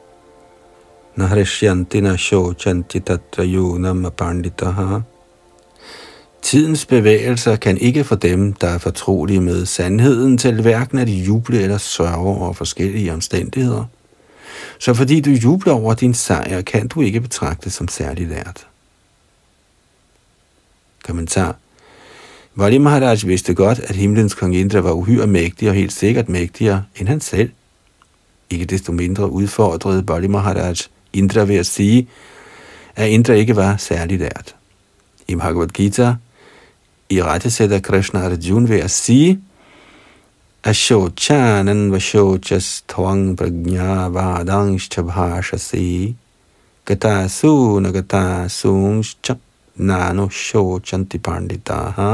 nahrishyanti na shochanti tatra yunam apanditaha Tidens bevægelser kan ikke få dem, der er fortrolige med sandheden, til hverken at juble eller sørge over forskellige omstændigheder. Så fordi du jubler over din sejr, kan du ikke betragtes som særlig lært. Kommentar. Bali Maharaj vidste godt, at himlens kong Indra var uhyre mægtig og helt sikkert mægtigere end han selv. Ikke desto mindre udfordrede Bali Maharaj Indra ved at sige, at Indra ikke var særlig lært. I Bhagavad Gita i rettesætter Krishna Arjuna ved at sige, Ashochanan vashochas tvang prajna vadangsh chabhashasi gata suna gata sungscha nano shochanti panditaha.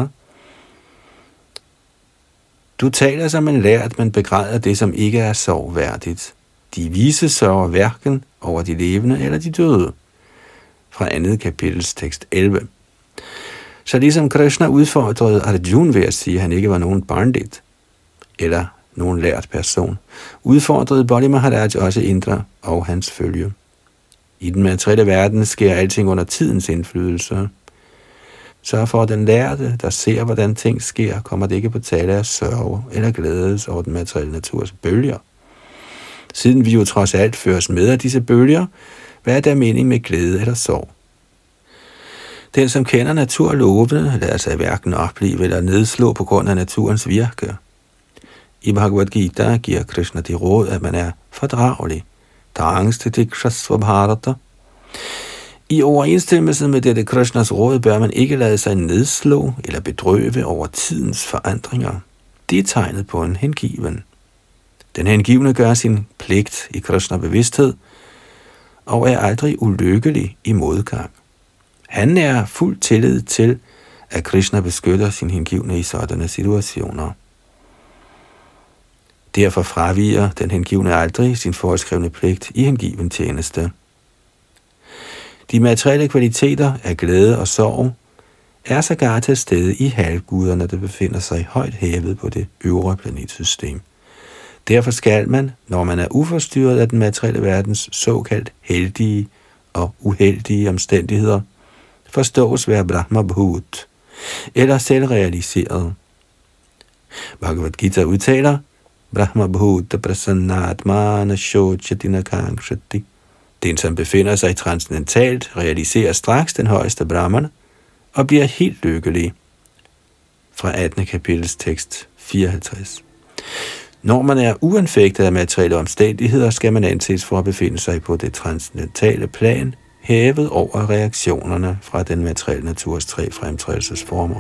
Du taler som en lært, men begræder det, som ikke er sorgværdigt. De vise sørger hverken over de levende eller de døde. Fra andet kapitels tekst elleve. Så ligesom Krishna udfordrede Arjuna ved at sige, at han ikke var nogen pandit, eller nogen lært person, udfordrede Bali Maharaj også Indra og hans følge. I den materielle verden sker alting under tidens indflydelse. Så for den lærte, der ser, hvordan ting sker, kommer det ikke på tale af sørge eller glædes over den materielle naturs bølger. Siden vi jo trods alt føres med af disse bølger, hvad er der mening med glæde eller sorg? Den, som kender naturlovene, lader sig hverken opleve eller nedslå på grund af naturens virke. I Bhagavad Gita giver Krishna det råd, at man er fordragelig. I overensstemmelse med dette Krishnas råd bør man ikke lade sig nedslå eller bedrøve over tidens forandringer. Det er tegnet på en hengiven. Den hengivne gør sin pligt i Krishna bevidsthed og er aldrig ulykkelig i modgang. Han er fuld tillid til, at Krishna beskytter sin hengivne i sådanne situationer. Derfor fraviger den hengivne aldrig sin foreskrevne pligt i hengiven tjeneste. De materielle kvaliteter af glæde og sorg er sågar til stede i halvguderne, der befinder sig højt hævet på det øvre planetsystem. Derfor skal man, når man er uforstyrret af den materielle verdens såkaldt heldige og uheldige omstændigheder, forstås være Brahma Bhut, eller selvrealiseret. Bhagavad Gita udtaler, Brahma Bhuta prasannatmana shochatina kankshati. Den, som befinder sig transcendentalt, realiserer straks den højeste Brahman og bliver helt lykkelig. Fra attende kapitels tekst fireoghalvtreds. Når man er uanfægtet af materielle omstændigheder, skal man anses for at befinde sig på det transcendentale plan, hævet over reaktionerne fra den materielle naturs tre fremtrædelsesformer.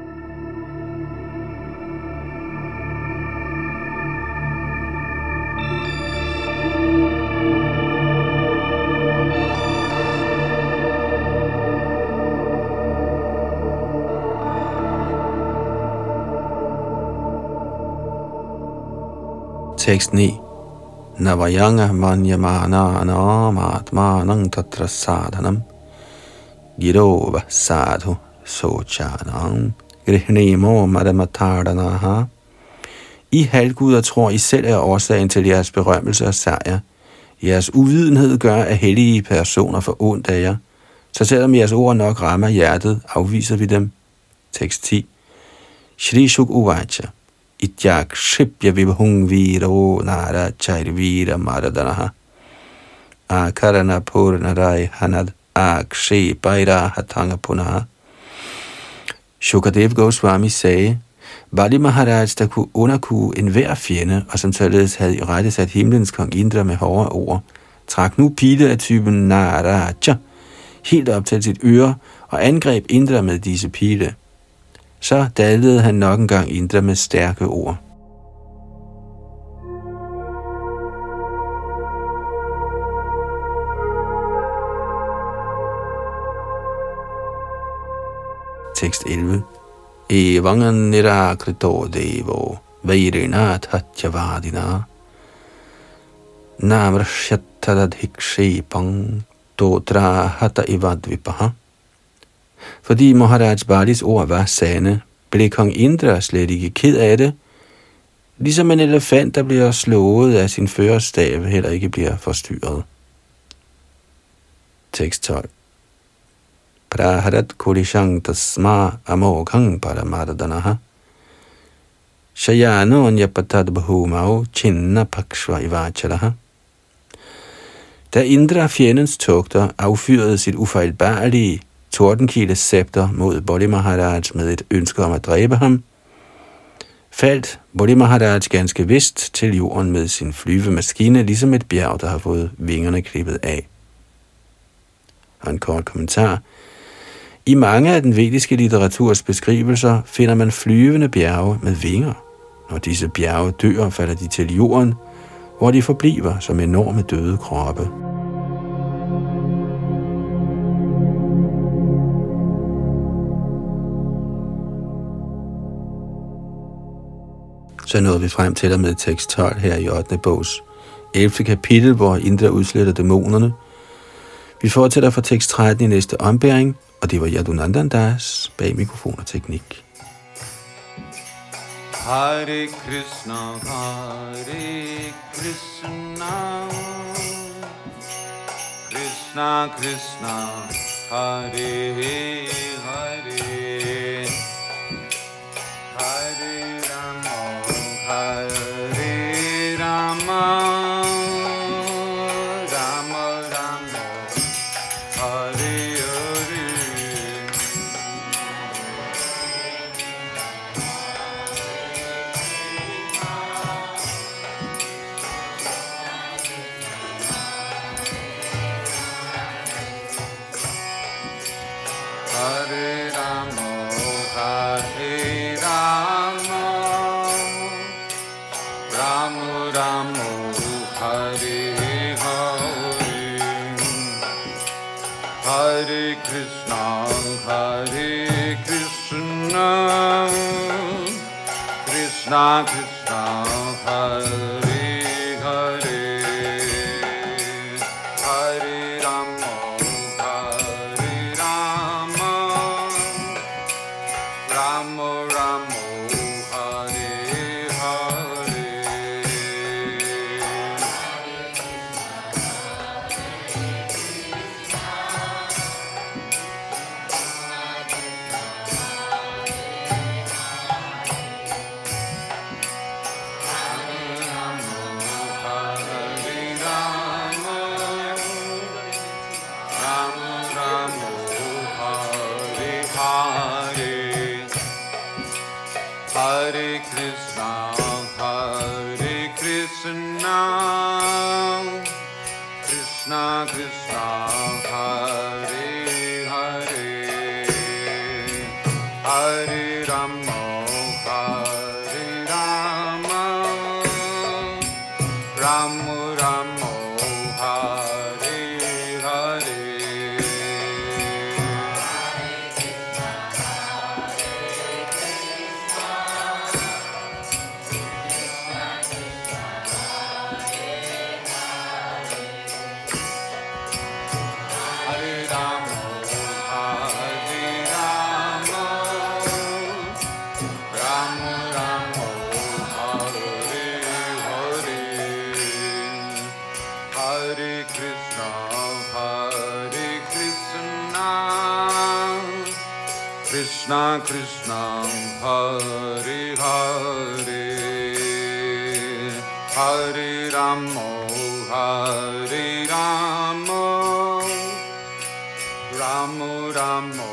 Tekst ni. Navayanga manyamana anamatmanang tatra sadhanam girova sadhu sochanam grihnemo madamatardanaha. I halvguder tror, I selv er årsagen til jeres berømmelse og sejr. Jeres uvidenhed gør, at hellige personer får ondt af jer. Så selvom jeres ord nok rammer hjertet, afviser vi dem. Tekst ti. Shri Shuk Uvacha Ityak Shipya Vibhung Viro Nara Chairvira Maradanaha Akarana Purnarai Hanad Akshe Baira Hatanga Punaha. Shukadev Goswami sagde, Bali Maharaj, der kunne underkue enhver fjende, og som således havde i rette sat himlens kong Indra med hårde ord, trak nu pile af typen Naraja helt op til sit øre og angreb Indra med disse pile. Så dalede han nok en gang Indra med stærke ord. Tekst elleve. Evangan nirakrito devo vairinat hatyavadina namrashyatadadhikshepang totra hata ivadvipaha. Fordi Maharaj Balis ord var sande, blev kong Indra slet ikke ked af det, ligesom en elefant, der bliver slået af sin førerstav, heller ikke bliver forstyrret. Tekst tolv. praharat kulishang tasma amoghang paramardanaha shayano nyapatad bahumao chinna pakshva ivachalaha. Da Indra, fjendens tugter, affyrede sit ufejlbarlige tordenkildes scepter mod Bali Maharaj med et ønske om at dræbe ham, faldt Bali Maharaj ganske vist til jorden med sin flyvemaskine, ligesom et bjerg, der har fået vingerne klippet af. Og en kort kommentar. I mange af den vediske litteraturs beskrivelser finder man flyvende bjerge med vinger. Når disse bjerge dør, falder de til jorden, hvor de forbliver som enorme døde kroppe. Så nåede vi frem til og med tekst tolv her i ottende bogs ellevte kapitel, hvor Indra udsletter dæmonerne. Vi fortsætter fra tekst tretten i næste ombæring, og det var Yadunandan Das bag mikrofon og teknik. Hare Krishna, Hare Krishna, Krishna Krishna, Hare Hare, Hare Rama, Hare Rama, Rama Rama, Hare Hare. Hare Rama, Hare Rama, Rama Rama, Hare Hare, Hare Krishna, Hare Krishna, Krishna Krishna, Hare Hare, Hare Rama, Hare Rama, Rama Rama, Hare Hare. Hare Krishna, Hare Krishna, Krishna Krishna, Hare Hare, Hare Rama, Hare Rama, Rama Rama, Hare Hare. Hare Krishna, Hare Krishna, Krishna Krishna, Hare Hare, Hare Rama, Hare Rama, Rama Rama,